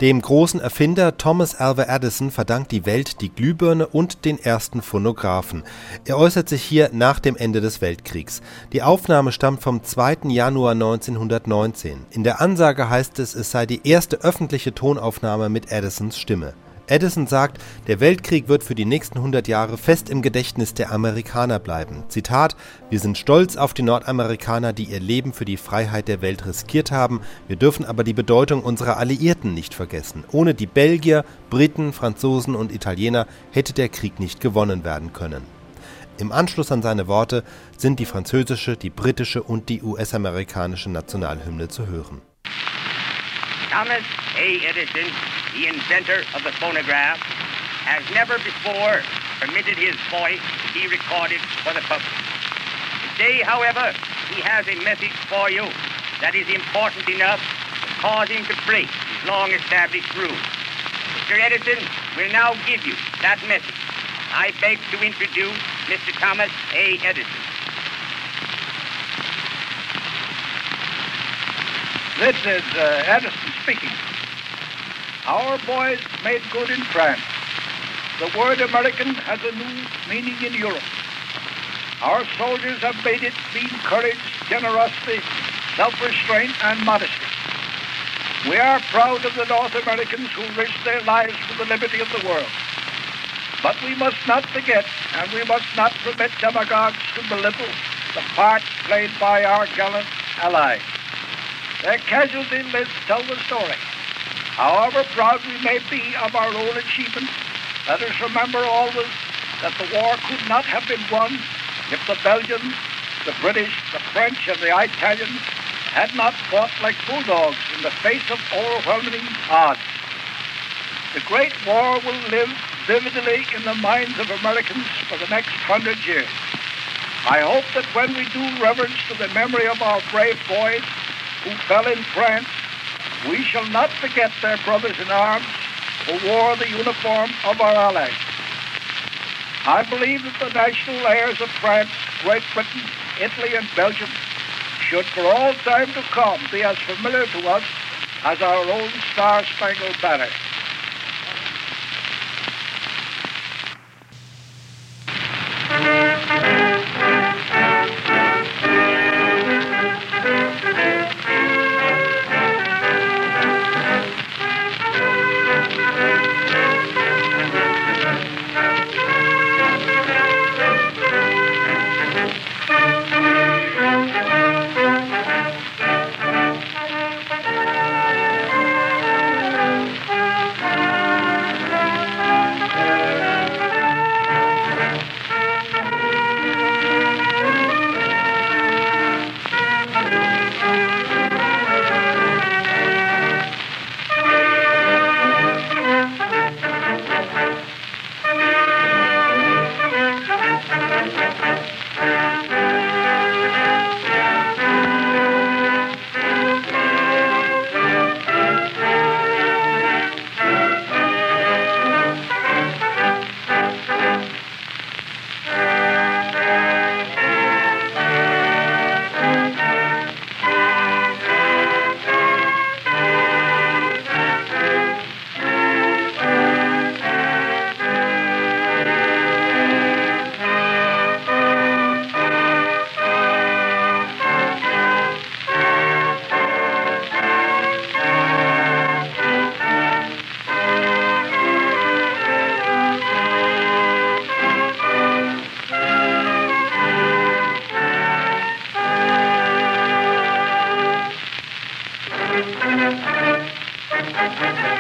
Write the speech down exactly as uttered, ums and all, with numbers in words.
Dem großen Erfinder Thomas Alva Edison verdankt die Welt die Glühbirne und den ersten Phonographen. Er äußert sich hier nach dem Ende des Weltkriegs. Die Aufnahme stammt vom zweiten Januar neunzehnhundertneunzehn. In der Ansage heißt es, es sei die erste öffentliche Tonaufnahme mit Edisons Stimme. Edison sagt, der Weltkrieg wird für die nächsten hundert Jahre fest im Gedächtnis der Amerikaner bleiben. Zitat: Wir sind stolz auf die Nordamerikaner, die ihr Leben für die Freiheit der Welt riskiert haben. Wir dürfen aber die Bedeutung unserer Alliierten nicht vergessen. Ohne die Belgier, Briten, Franzosen und Italiener hätte der Krieg nicht gewonnen werden können. Im Anschluss an seine Worte sind die französische, die britische und die U S-amerikanische Nationalhymne zu hören. Thomas A. Edison, the inventor of the phonograph, has never before permitted his voice to be recorded for the public. Today, however, he has a message for you that is important enough to cause him to break his long-established rule. Mister Edison will now give you that message. I beg to introduce Mister Thomas A. Edison. This is uh, Edison speaking. Our boys made good in France. The word American has a new meaning in Europe. Our soldiers have made it mean courage, generosity, self-restraint, and modesty. We are proud of the North Americans who risked their lives for the liberty of the world. But we must not forget, and we must not permit demagogues to belittle the part played by our gallant allies. Their casualty lists tell the story. However proud we may be of our own achievements, let us remember always that the war could not have been won if the Belgians, the British, the French, and the Italians had not fought like bulldogs in the face of overwhelming odds. The Great War will live vividly in the minds of Americans for the next hundred years. I hope that when we do reverence to the memory of our brave boys who fell in France, we shall not forget their brothers in arms who wore the uniform of our allies. I believe that the national airs of France, Great Britain, Italy, and Belgium should for all time to come be as familiar to us as our own Star-Spangled Banner. Thank you.